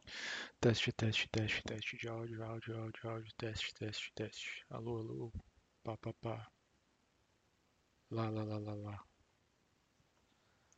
Teste, teste, teste, teste de áudio, áudio, áudio, áudio, teste, teste, teste. Alô, alô. Pá, pá, pá. Lá, lá, lá, lá, lá.